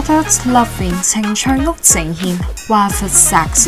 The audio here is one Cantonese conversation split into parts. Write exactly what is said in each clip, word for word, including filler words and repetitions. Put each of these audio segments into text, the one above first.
Adult Loving 情趣屋呈現華佛 Sexy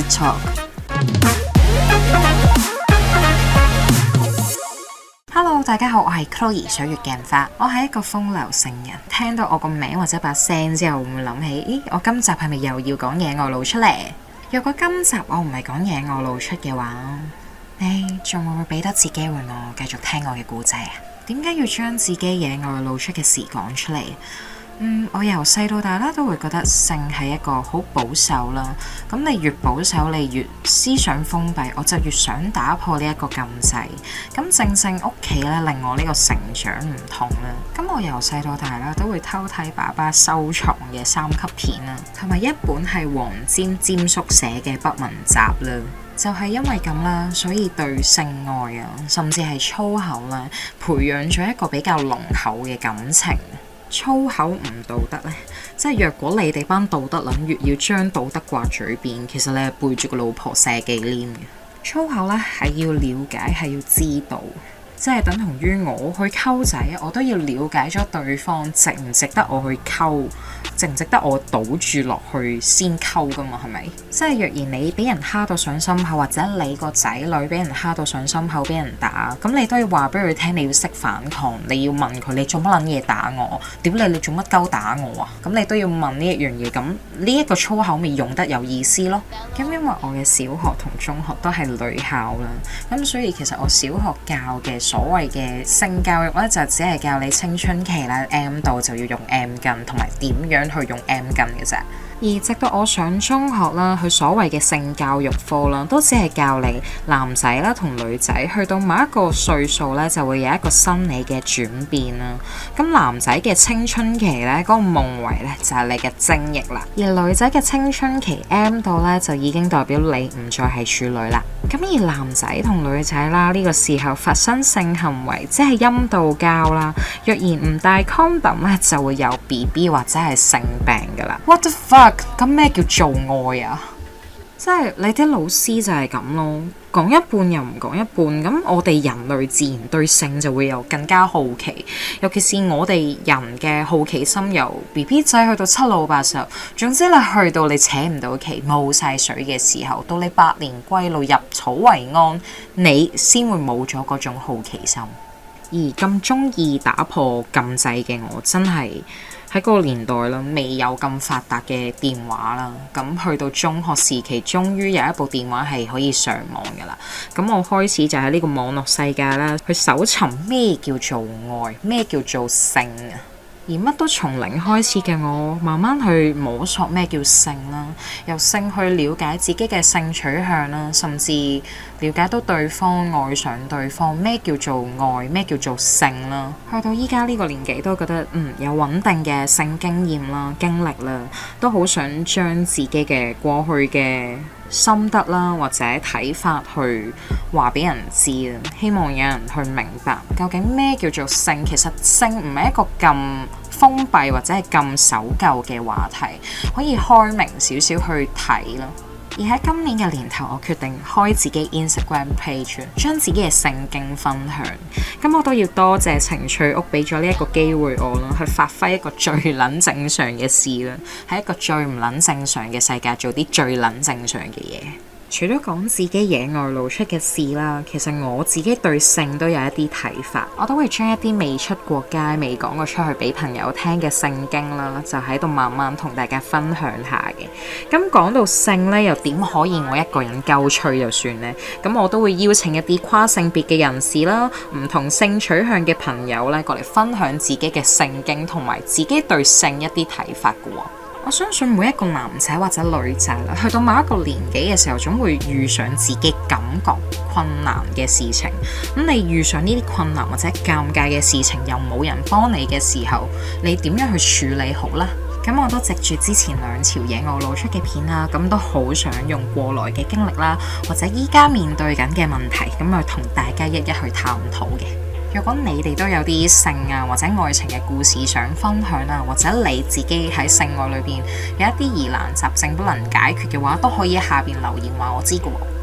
Talk。Hello， 大家好，我係 Chloe 水月鏡花，我係一個風流聖人。聽到我個名或者把聲之後，會唔會諗起？咦，我今集係咪又要講野外露出嚟？若果今集我唔係講野外露出嘅話，你仲會唔會俾多次機會我繼續聽我嘅故仔啊？點解要將自己野外露出嘅事講出嚟？嗯，我由細到大啦，都會覺得性係一個好保守啦。咁你越保守，你越思想封閉，我就越想打破呢一個禁制。咁正正屋企咧，令我呢個成長唔同啦。咁我由細到大啦，都會偷睇爸爸收藏嘅三級片啦，同埋一本係黃霑霑叔寫嘅不文集啦。就係因為咁啦，所以對性愛啊，甚至係粗口啦，培養咗一個比較濃厚嘅感情。粗口唔道德呢？即係若果你哋班道德撚越要將道德掛嘴邊，其實你係背住個老婆射忌廉嘅。粗口呢係要了解，係要知道，即係等同於我去溝仔，我都要了解咗對方值唔值得我去溝，值唔值得我賭住落去先溝噶嘛？係咪？即係若然你俾人蝦到上心口，或者你個仔女俾人蝦到上心口，俾人打，咁你都要話俾佢聽，你要識反抗，你要問佢你做乜撚嘢打我？屌你，你做乜鳩打我啊？咁你都要問呢一樣嘢，咁呢一個粗口咪用得有意思咯。咁因為我嘅小學同中學都係女校啦，咁所以其實我小學教嘅所謂嘅性教育咧，就只係教你青春期啦 M 度就要用 M 巾，同埋點樣去用 M 巾嘅啫。而直到我上中學啦，佢所謂嘅性教育課啦，都只係教你男仔啦同女仔去到某一個歲數咧，就會有一個生理嘅轉變啦。咁男仔嘅青春期咧，嗰個夢遺咧就係你嘅精液啦，而女仔嘅青春期 M 度咧就已經代表你唔再係處女啦。咁而男仔同女仔啦，呢個時候發生性行為，即係陰道交啦。若然唔戴 condom 咧，就會有 B B 或者係性病噶啦。What the fuck？咁咩叫做愛啊？即係你啲老師就係咁咯，講一半又唔講一半。咁我哋人類自然對性就會有更加好奇，尤其是我哋人嘅好奇心由 B B 仔去到七老八十，總之你去到你扯唔到旗冇晒水嘅時候，到你百年歸老入草為安，你先會冇咗嗰種好奇心。而咁中意打破禁制嘅我，真係喺嗰個年代啦，未有咁發達嘅電話啦，咁去到中學時期，終於有一部電話係可以上網噶啦。咁我開始就喺呢個網絡世界啦，去搜尋咩叫做愛，咩叫做性啊。而乜都從零開始嘅我，慢慢去摸索咩叫性啦，由性去了解自己嘅性取向啦，甚至了解到對方，愛上對方，咩叫做愛，咩叫做性啦。去到依家呢個年紀，都覺得嗯有穩定嘅性經驗啦、經歷啦，都好想將自己嘅過去嘅心得啦，或者睇法去話俾人知啊，希望有人去明白究竟咩叫做性。其實性唔係一個咁封閉或者係咁守舊嘅話題，可以開明少少去睇咯。而喺今年嘅年頭，我決定開自己 Instagram page， 將自己嘅性經分享。咁我都要多謝情趣屋俾咗呢一個機會我啦，去發揮一個最撚正常嘅事啦，喺一個最唔撚正常嘅世界做啲最撚正常嘅嘢。除咗講自己野外露出嘅事啦，其實我自己對性都有一啲睇法，我都會將一啲未出過街、未講過出去俾朋友聽嘅性經啦，就喺度慢慢同大家分享下嘅。咁講到性呢，又點可以我一個人鳩吹就算呢？咁我都會邀請一啲跨性別嘅人士啦，唔同性取向嘅朋友咧，過嚟分享自己嘅性經同埋自己對性一啲睇法嘅喎。我相信每一個男仔或者女仔啦，去到某一個年紀嘅時候，總會遇上自己感覺困難嘅事情。咁你遇上呢啲困難或者尷尬嘅事情，又冇人幫你嘅時候，你點樣去處理好呢？咁我都藉住之前兩條野外露出嘅片啦，咁都好想用過來嘅經歷啦，或者依家面對緊嘅問題，咁去同大家一一去探討嘅。如果你哋都有啲性啊或者愛情嘅故事想分享啊，或者你自己喺性愛裏邊有一啲疑難雜症不能解決嘅話，都可以喺下邊留言話我知嘅喎。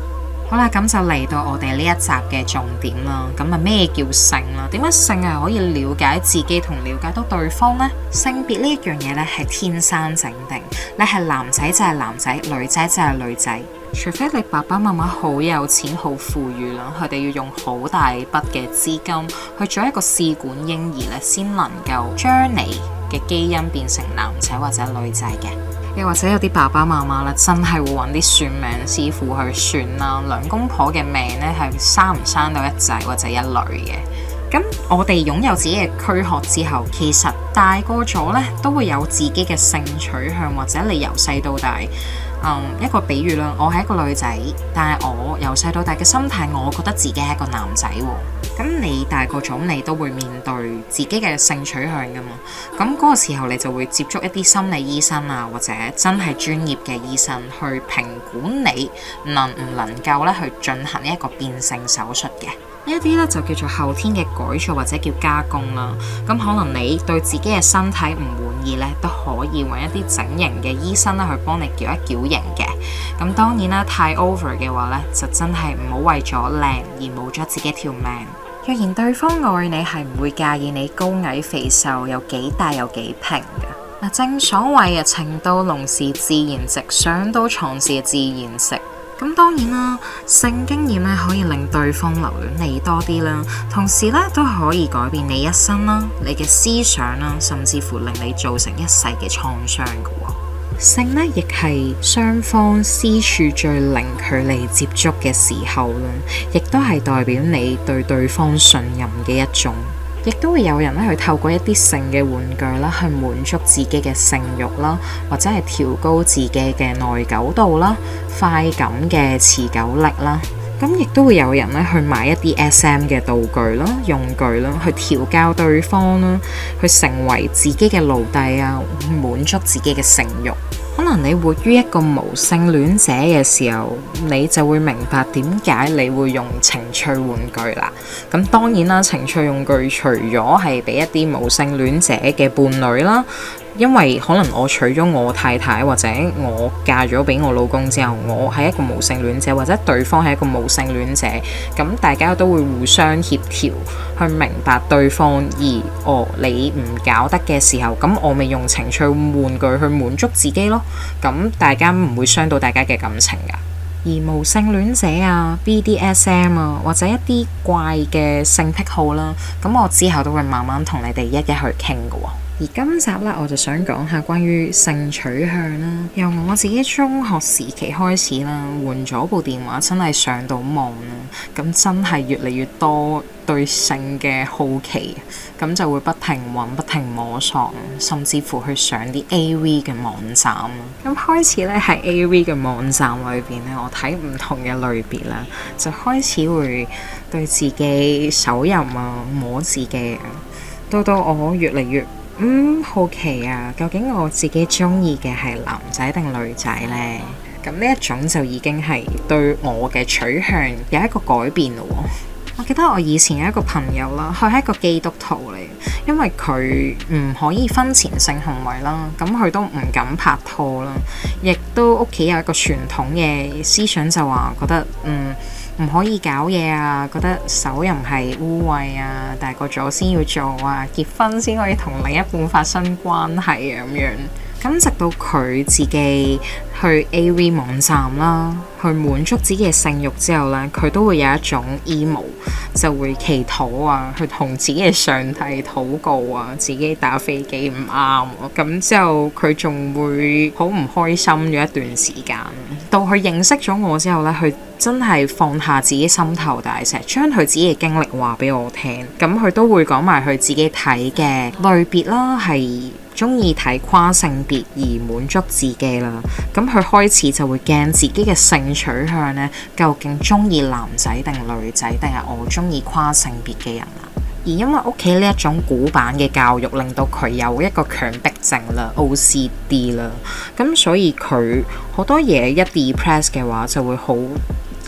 好啦，咁就嚟到我哋呢一集嘅重點啦。咁啊，咩叫性啦？點解性係可以了解自己同了解到對方呢？性別呢一樣嘢咧係天生整定，你係男仔就係男仔，女仔就係女仔。除非你爸爸媽媽好有錢、好富裕啦，佢哋要用好大筆嘅資金去做一個試管嬰兒咧，先能夠將你嘅基因變成男仔或者女仔嘅。又或者有啲爸爸媽媽咧，真係會揾啲算命師傅去算啦，兩公婆嘅命咧係生唔生到一仔或者一女嘅。咁我哋擁有自己嘅軀殼之後，其實大個咗咧都會有自己嘅性取向，或者你由細到大。嗯，一個比喻啦，我係一個女仔，但係我由細到大嘅心態，我覺得自己係一個男仔喎。咁你大個咗，你都會面對自己嘅性取向噶嘛？咁嗰個時候，你就會接觸一啲心理醫生啊，或者真係專業嘅醫生去評估你能唔能夠咧去進行一個變性手術嘅。呢一啲咧就叫做後天嘅改造或者叫加工啦。咁可能你對自己嘅身體唔滿意咧，都可以揾一啲整形嘅醫生咧去幫你矯一矯形嘅。咁當然啦，太 over 嘅話咧，就真係唔好為咗靚而冇咗自己條命。若然對方愛你，係唔會介意你高矮肥瘦有幾大有幾平嘅。嗱，正所謂啊，情到濃時自然直，上到床時自然直。咁當然啦，性經驗咧可以令對方留戀你多啲啦，同時咧都可以改變你一生啦，你嘅思想啦，甚至乎令你造成一世嘅創傷嘅喎。性咧亦係雙方私處最零距離接觸嘅時候啦，亦都係代表你對對方信任嘅一種。亦都會有人咧去透過一啲性嘅玩具啦，去滿足自己嘅性慾啦，或者係調高自己嘅耐久度啦、快感嘅持久力啦。咁亦都會有人咧去買一啲 S M 嘅道具啦、用具啦，去調教對方啦，去成為自己嘅奴隸啊，滿足自己嘅性慾。可能你活於一個無性戀者嘅時候，你就會明白點解你會用情趣玩具啦。咁當然啦，情趣用具除咗係俾一啲無性戀者嘅伴侶啦，因為可能我娶咗我太太或者我嫁咗俾我老公之後，我係一個無性戀者，或者對方係一個無性戀者，咁大家都會互相協調去明白對方，而哦你唔搞得嘅時候，咁我咪用情趣玩具去滿足自己咯，咁大家唔會傷到大家嘅感情噶。而無性戀者啊、B D S M 啊，或者一啲怪嘅性癖好啦，咁我之後都會慢慢同你哋一一去傾噶喎。而今集咧，我就想講下關於性取向啦。由我自己中學時期開始啦，換咗部電話真係上到網啦，咁真係越嚟越多對性嘅好奇，咁就會不停揾、不停摸索，甚至乎去上啲 A V 嘅網站啦。咁開始咧喺 A V 嘅網站裏邊咧，我睇唔同嘅類別啦，就開始會對自己手淫啊、摸自己啊，到到我越嚟越嗯，好奇啊，究竟我自己中意嘅係男仔定女仔呢？咁呢一種就已經係對我嘅取向有一個改變咯。我記得我以前有一個朋友啦，佢係一個基督徒嚟，因為佢唔可以婚前性行為啦，咁佢都唔敢拍拖啦，亦都屋企有一個傳統嘅思想，就話覺得嗯。唔可以搞嘢啊，覺得手淫係污穢啊，大個咗先要做啊，結婚先可以同另一半發生關係啊咁樣。咁直到佢自己去 A V 網站啦，去滿足自己嘅性慾之後呢，佢都會有一種 emo， 就會祈禱啊，去同自己嘅上帝禱告啊，自己打飛機唔啱，咁之後佢仲會好唔開心咗一段時間。到佢認識咗我之後呢，佢真係放下自己心頭大石，將佢自己嘅經歷話俾我聽。咁佢都會講埋佢自己睇嘅類別啦，係中意睇跨性別而滿足自己啦。咁佢開始就會驚自己嘅性取向呢，究竟中意男仔定女仔，定係我中意跨性別嘅人啊？而因為屋企呢一種古板嘅教育，令到佢有一個強迫症啦 O C D 啦，咁所以佢好多嘢一 depress 嘅話就會好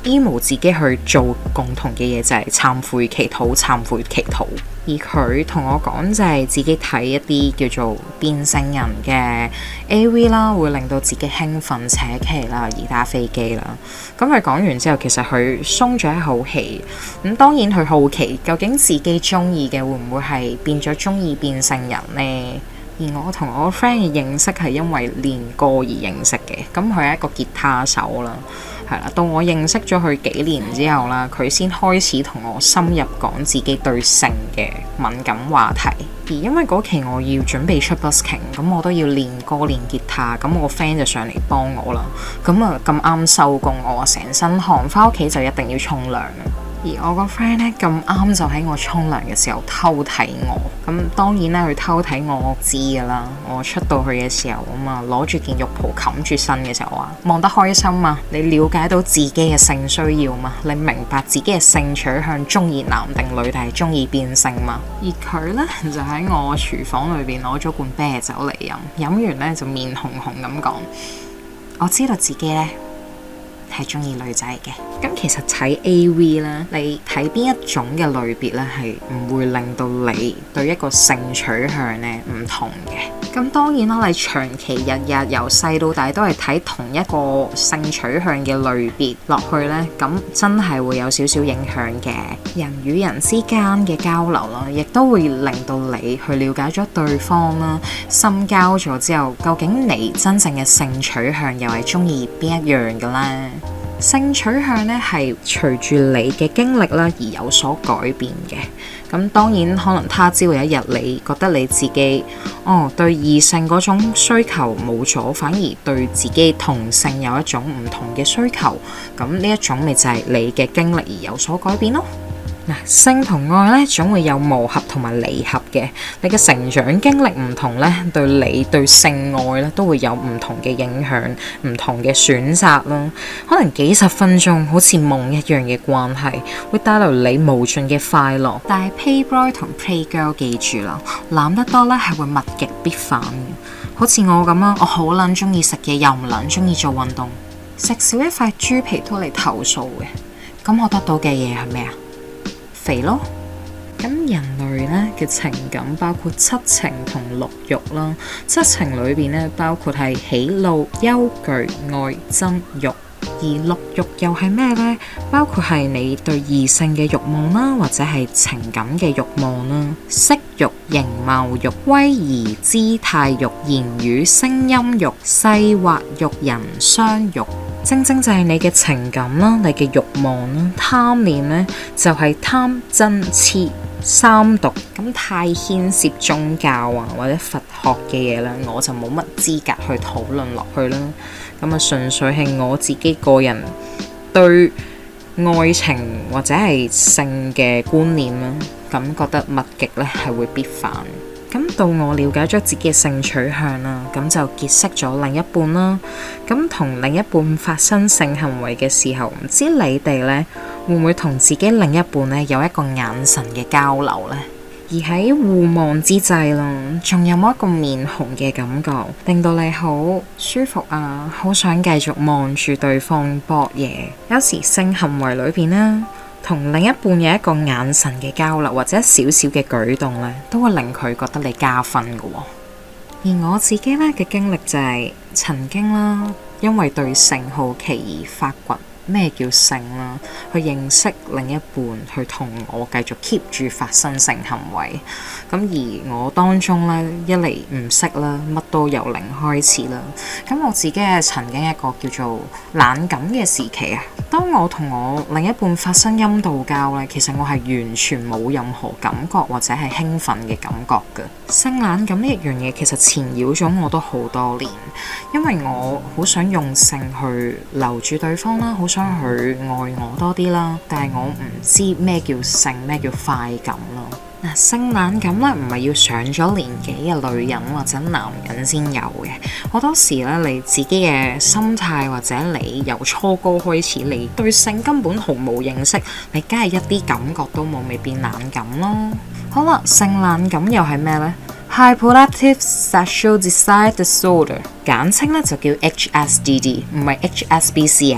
emo 自己去做共同嘅嘢就係懺悔祈禱、懺悔祈禱。而佢同我講就係自己睇一啲叫做變性人嘅 A V 啦，會令到自己興奮、扯旗啦，而打飛機啦。咁佢講完之後，其實佢鬆咗一口氣。咁當然佢好奇究竟自己中意嘅會唔會係變咗中意變性人呢？而我同我 friend 嘅認識係因為練歌而認識嘅。咁佢係一個吉他手啦。係啦，到我認識咗佢幾年之後啦，佢先開始同我深入講自己對性嘅敏感話題。而因為嗰期我要準備出 busking， 咁我都要練歌練吉他，咁我 friend 就上嚟幫我啦。咁啊咁啱收工，我成身汗，翻屋企就一定要沖涼。而我個 friend 咧咁啱就喺我沖涼嘅時候偷睇我，咁當然啦，佢偷睇我我知噶啦。我出到去嘅時候啊嘛，攞住件浴袍冚住身嘅時候話望得開心嘛，你了解到自己嘅性需要嘛，你明白自己嘅性取向中意男定女定係中意變性嘛。而佢呢，就喺我廚房裏邊攞咗罐啤酒嚟飲，飲完呢，就面紅紅咁講，我知道自己呢係中意女仔嘅。咁其實睇 A V 咧，你睇邊一種嘅類別咧，係唔會令到你對一個性取向咧唔同嘅。咁當然啦，你長期日日由細到大都係睇同一個性取向嘅類別落去咧，咁真係會有少少影響嘅。人與人之間嘅交流啦，亦都會令到你去了解咗對方啦，深交咗之後，究竟你真正嘅性取向又係中意邊一樣嘅咧？性取向咧係隨住你嘅經歷啦而有所改變嘅。咁當然可能他朝有一日你覺得你自己哦對異性嗰種需求冇咗，反而對自己同性有一種唔同嘅需求，咁呢一種咪就係你嘅經歷而有所改變咯。嗱，性同愛咧總會有磨合同埋離合嘅，你嘅成長經歷唔同咧，對你對性愛咧都會有唔同嘅影響，唔同嘅選擇啦。可能幾十分鐘好似夢一樣嘅關係，會帶來你無盡嘅快樂。但係 Playboy 同 Playgirl 記住啦，攬得多咧係會物極必反嘅。好似我咁啊，我好撚中意食嘢，又唔撚中意做運動，食少一塊豬皮都嚟投訴嘅。咁我得到嘅嘢係咩啊？肥咯。咁人類咧嘅情感包括七情同六欲啦。七情裏邊咧包括係喜怒憂懼愛憎欲，而六欲又係咩呢？包括係你對異性嘅慾望啦，或者係情感嘅慾望啦，色欲、形貌欲、威儀姿態欲、言語聲音欲、細滑欲、人相欲。正正就係你嘅情感啦，你嘅慾望啦，貪念呢，就係貪嗔痴三毒。咁太牽涉宗教啊或者佛學嘅嘢啦，我就冇乜資格去討論落去啦。咁啊，純粹係我自己個人對愛情或者係性嘅觀念啦，咁覺得物極咧係會必反。咁到我了解咗自己嘅性取向啦，咁就結識咗另一半啦。咁同另一半發生性行為嘅時候，唔知你哋呢會唔會同自己另一半呢有一個眼神嘅交流呢？而喺互望之際啦，仲有冇一個面紅嘅感覺，令到你好舒服啊，好想繼續望住對方搏嘢。有時性行為裏邊呢，同另一半有一個眼神嘅交流，或者少少嘅舉動咧，都會令佢覺得你加分嘅喎。而我自己咧嘅經歷就係曾經啦，因為對性好奇而發掘咩叫性啦，去認識另一半，去同我繼續 keep 住發生性行為。咁而我當中咧，一嚟唔識啦，乜都由零開始啦。咁我自己係曾經一個叫做冷感嘅時期啊。當我同我另一半發生陰道交咧，其實我係完全冇任何感覺或者係興奮嘅感覺嘅。性冷感呢一樣嘢其實纏繞咗我都好多年，因為我好想用性去留住對方啦，好想去愛我多啲啦，但係我唔知咩叫性，咩叫快感咯。嗱，性冷感咧唔係要上咗年紀嘅女人或者男人先有嘅，好多時咧你自己嘅心態或者你由初高開始，你對性根本毫無認識，你梗係一啲感覺都冇，咪變冷感咯。好啦，性冷感又係咩呢？ Hyperactive Sexual Desire Disorder， 簡稱咧就叫 H S D D， 唔係 H S B C 啊。佢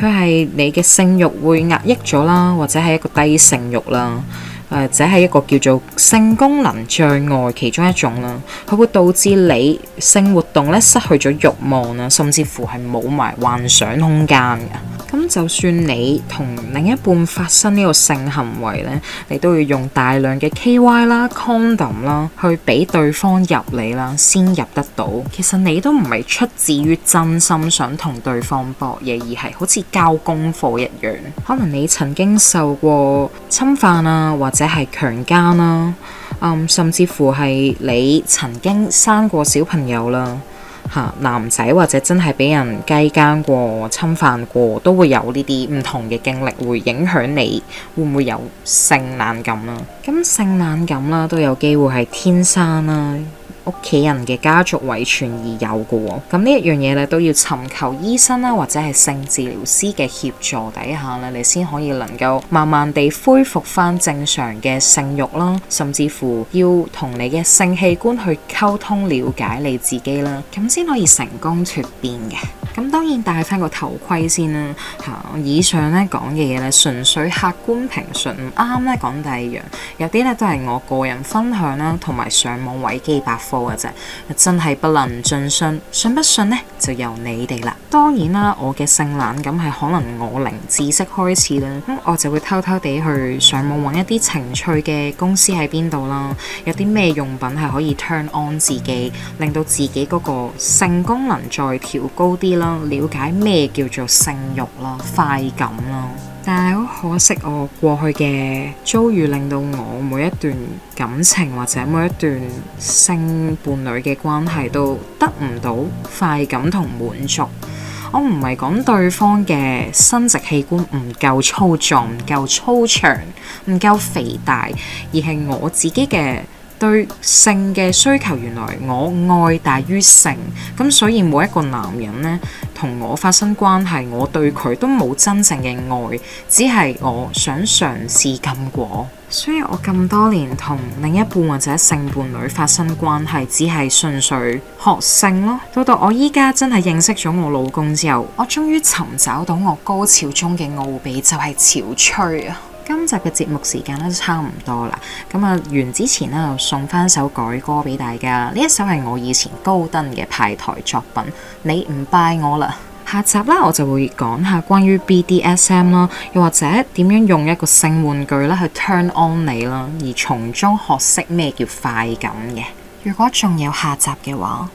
佢係你嘅性慾會壓抑咗啦，或者係一個低性慾啦。或者係一個叫做性功能障礙其中一種啦，佢會導致你性活動咧失去咗慾望啦，甚至乎係冇埋幻想空間嘅。咁就算你同另一半發生呢個性行為咧，你都要用大量嘅 K Y 啦、condom 啦，去俾對方入你啦，先入得到。其實你都唔係出自於真心想同對方搏嘢，而係好似交功課一樣。可能你曾經受過侵犯啊，或者係強姦啦，嗯，甚至乎係你曾經生過小朋友啦。男仔或者真係俾人雞姦過、侵犯過，都會有呢啲唔同嘅經歷，會影響你會唔會有性冷感啦。咁性冷感啦，都有機會係天生啦，屋企人嘅家族遺傳而有嘅喎。咁呢一樣嘢咧，都要尋求醫生啦，或者係性治療師嘅協助底下咧，你先可以能夠慢慢地恢復翻正常嘅性慾啦，甚至乎要同你嘅性器官去溝通了解你自己啦，咁先可以成功脫變嘅。咁當然戴翻個頭盔先啦嚇。以上咧講嘅嘢咧，純粹客觀評述，唔啱咧講第二樣。有啲咧都係我個人分享啦，同埋上網維基百科嘅啫，真係不能盡信，信不信呢就由你哋啦。當然啦，我嘅性冷感係可能我零知識開始啦，咁我就會偷偷地去上網揾一啲情趣嘅公司喺邊度啦，有啲咩用品係可以 turn on 自己，令到自己嗰個性功能再調高啲啦，了解咩叫做性慾啦、快感啦。但係好可惜，我過去嘅遭遇令到我每一段感情或者每一段性伴侶嘅關係都得唔到快感同滿足。我唔係講對方嘅生殖器官唔夠粗壯、唔夠粗長、唔夠肥大，而係我自己嘅對性嘅需求，原來我愛大於性，咁所以每一個男人呢，同我發生關係，我對佢都冇真正嘅愛，只係我想嘗試禁果。所以我咁多年同另一半或者性伴侶發生關係，只係純粹學性咯。到到我依家真係認識咗我老公之後，我終於尋找到我高潮中嘅奧秘，就係潮吹啊！今集嘅節目時間咧都差唔多啦，咁啊完之前咧就送翻首改歌俾大家，呢一首係我以前高登嘅派台作品，你唔拜我啦。下集啦，我就會講下關於 B D S M 啦，又或者點樣用一個性玩具啦去 turn on 你啦，而從中學識咩叫快感嘅。如果仲有下集嘅話，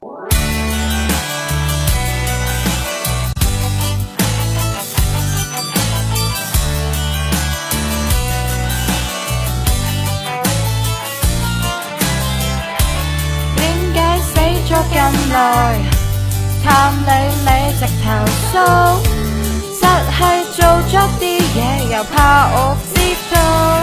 咁耐探你你直投訴，實係做咗啲嘢又怕我知道。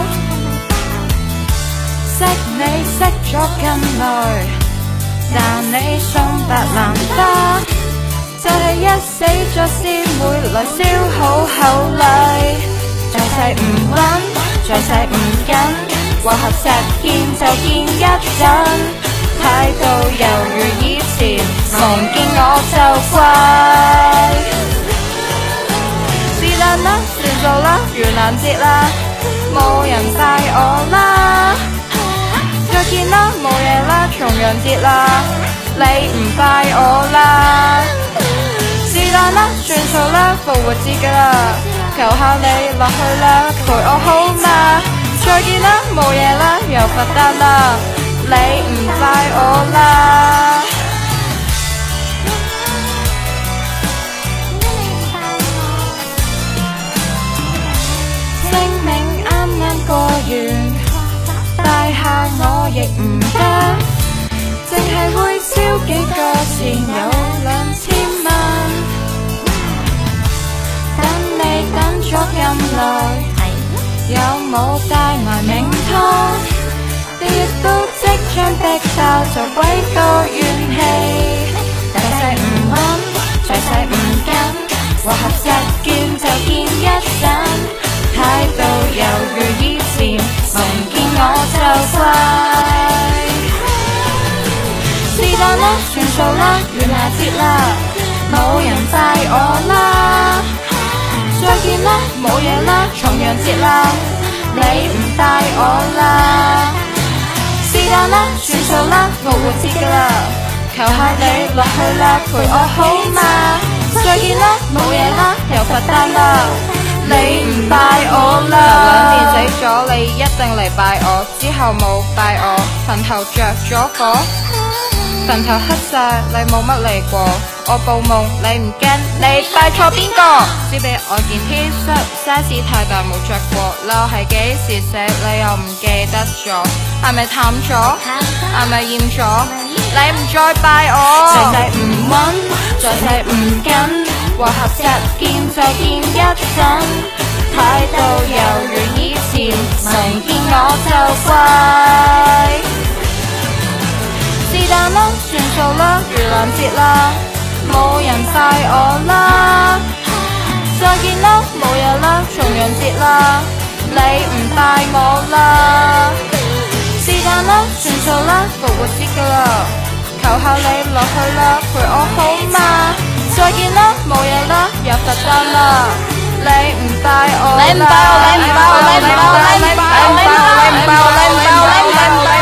識你識咗咁耐，但你送達難得，就係、是、一死咗先會來消耗厚禮。在世唔穩，在世唔緊，話合實見就見一陣。態度猶如以前，望見我就怪。是但啦，算數啦，盂蘭節啦，冇人拜我啦。再見啦，冇嘢啦，重陽節啦，你唔拜我啦。是但啦，算數啦，復活節㗎啦，求下你落去啦，陪我好嗎？再見啦，冇嘢啦，又佛誕啦。你唔拜我啦，清明啱啱過完，拜下我亦唔得，淨係會燒幾個錢有兩千蚊。等你等咗咁耐，有冇帶埋名湯？你亦都即將逼爆，就鬼多怨氣。大勢唔穩，在勢唔緊，話合實見就見一陣。態度猶如以前，望見我就怪。是但啦，算數啦，盂蘭節啦，冇人拜我啦。 再見啦，冇嘢啦，重陽節啦，你唔帶我啦，是但啦，算數啦，復活節㗎啦，求下你落去啦，陪我好嗎？再見啦，冇嘢啦，又罰單啦，你唔帶我啦。頭兩年死咗，你一定嚟拜我，之後冇拜我，墳頭着咗火，墳頭黑晒，你冇乜嚟過。我報夢你唔驚，你拜錯邊個？只俾我件 T 恤 size 太大冇着過，褸係幾時寫你又唔記得咗？係咪淡咗？係咪厭咗？你唔再拜我，再世唔穩，再世唔緊，和合實見再見一陣，態度猶如以前，明見我就怪。是但啦，算數啦，盂蘭節啦，冇人拜我啦，再見啦，冇嘢啦，重陽節啦，你唔拜我啦，是但啦，算數啦，復活節㗎啦，求下你落去啦，陪我好嗎？再見啦，冇嘢啦，又罰單啦，你唔拜我啦，你唔拜我，你唔拜我，你唔拜我，你唔拜我，你唔拜我，你唔拜我，你唔拜我，你唔拜我。